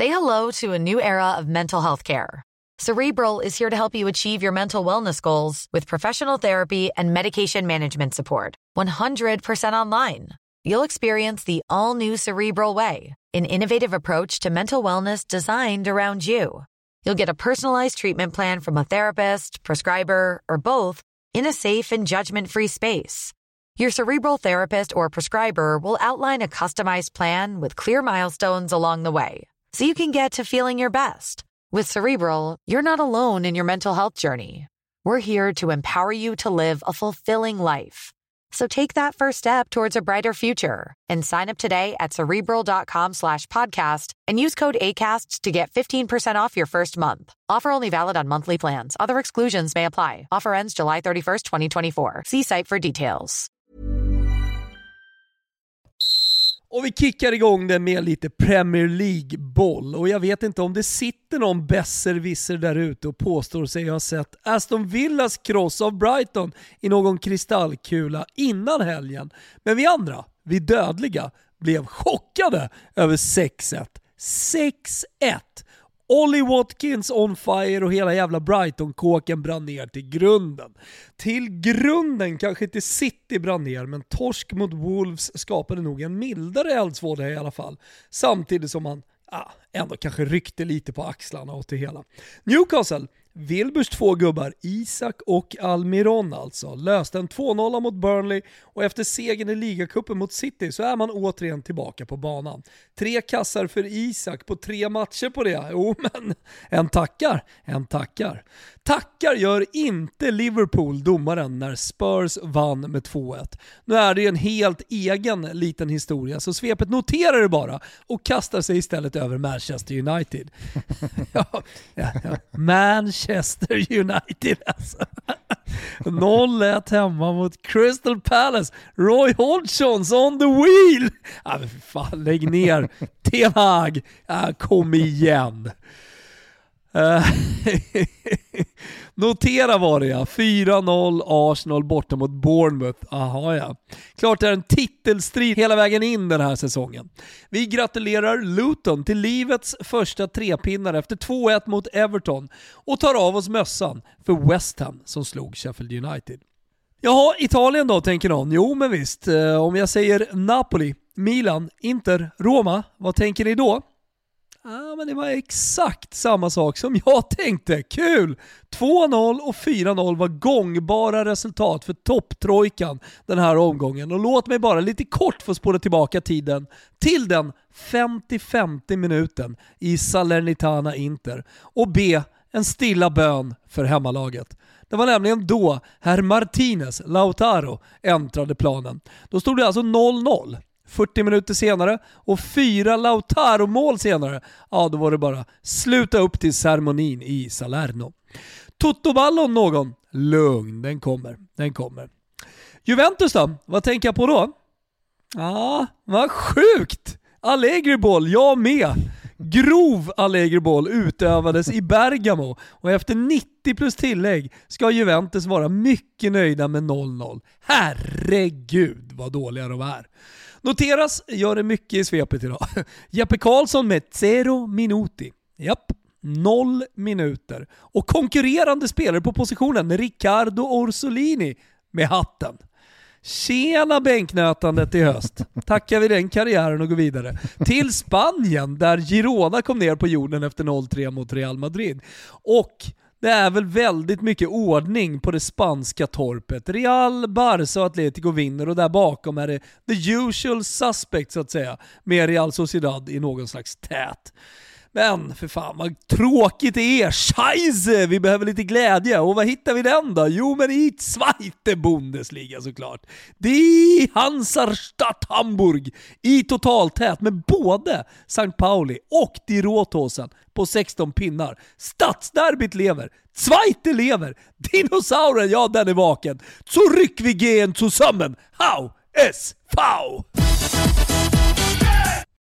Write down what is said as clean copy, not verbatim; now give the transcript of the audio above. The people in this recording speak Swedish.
Say hello to a new era of mental health care. Cerebral is here to help you achieve your mental wellness goals with professional therapy and medication management support. 100% online. You'll experience the all-new Cerebral Way, an innovative approach to mental wellness designed around you. You'll get a personalized treatment plan from a therapist, prescriber, or both in a safe and judgment-free space. Your Cerebral therapist or prescriber will outline a customized plan with clear milestones along the way, so you can get to feeling your best. With Cerebral, you're not alone in your mental health journey. We're here to empower you to live a fulfilling life. So take that first step towards a brighter future and sign up today at Cerebral.com/podcast and use code ACAST to get 15% off your first month. Offer only valid on monthly plans. Other exclusions may apply. Offer ends July 31st, 2024. See site for details. Och vi kickar igång det med lite Premier League-boll. Och jag vet inte om det sitter någon besserwisser där ute och påstår sig ha sett Aston Villas kross av Brighton i någon kristallkula innan helgen. Men vi andra, vi dödliga, blev chockade över 6-1. 6-1! Ollie Watkins on fire och hela jävla Brighton-kåken brann ner till grunden. Till grunden, kanske inte City brann ner, men torsk mot Wolves skapade nog en mildare eldsvåda i alla fall. Samtidigt som man ändå kanske ryckte lite på axlarna åt det hela. Newcastle, Wilburs 2 gubbar, Isak och Almiron alltså, löste en 2-0 mot Burnley och efter segern i ligacupen mot City så är man återigen tillbaka på banan. 3 kassar för Isak på 3 matcher på det. Jo, men en tackar. Tackar gör inte Liverpool, domaren, när Spurs vann med 2-1. Nu är det ju en helt egen liten historia, så svepet noterar det bara och kastar sig istället över Manchester United. Manchester United alltså. 0-1 hemma mot Crystal Palace. Roy Hodgson's on the wheel. Men för fan, lägg ner. Ten Hag. Kom igen. Notera var det 4-0 Arsenal borta mot Bournemouth. Aha ja. Klart det är en titelstrid hela vägen in den här säsongen. Vi gratulerar Luton till livets första 3-pinnar efter 2-1 mot Everton och tar av oss mössan för West Ham som slog Sheffield United. Jaha, Italien då tänker någon. Jo men visst, om jag säger Napoli, Milan, Inter, Roma, vad tänker ni då? Men det var exakt samma sak som jag tänkte. Kul! 2-0 och 4-0 var gångbara resultat för topptrojkan den här omgången. Och låt mig bara lite kort få spåra tillbaka tiden till den 50-50 minuten i Salernitana Inter och be en stilla bön för hemmalaget. Det var nämligen då herr Martinez Lautaro äntrade planen. Då stod det alltså 0-0. 40 minuter senare och 4 Lautaro-mål senare, då var det bara sluta upp till ceremonin i Salerno. Tuttoballo någon? Lugn, den kommer. Juventus då? Vad tänker jag på då? Vad sjukt! Allegri-boll, jag med. Grov Allegri-boll utövades i Bergamo och efter 90 plus tillägg ska Juventus vara mycket nöjda med 0-0. Herregud vad dåliga de är. Noteras gör det mycket i svepet idag. Jeppe Karlsson med 0 minuti. Japp, 0 minuter. Och konkurrerande spelare på positionen Riccardo Orsolini med hatten. Tjena bänknötandet i höst. Tackar vi den karriären och går vidare. Till Spanien där Girona kom ner på jorden efter 0-3 mot Real Madrid. Och det är väl väldigt mycket ordning på det spanska torpet. Real, Barça och Atletico vinner och där bakom är det the usual suspect så att säga. Med Real Sociedad i någon slags tät. Men för fan vad tråkigt det är. Scheisse, vi behöver lite glädje. Och vad hittar vi den då? Jo men i Zweite Bundesliga såklart. Die Hansarstadt Hamburg i totaltät med både St. Pauli och Die Rothosen på 16 pinnar. Stadsderbyt lever. Zweite lever. Dinosauren, ja den är vaken. Så ryck vi gen zusammen. Hau es Fau.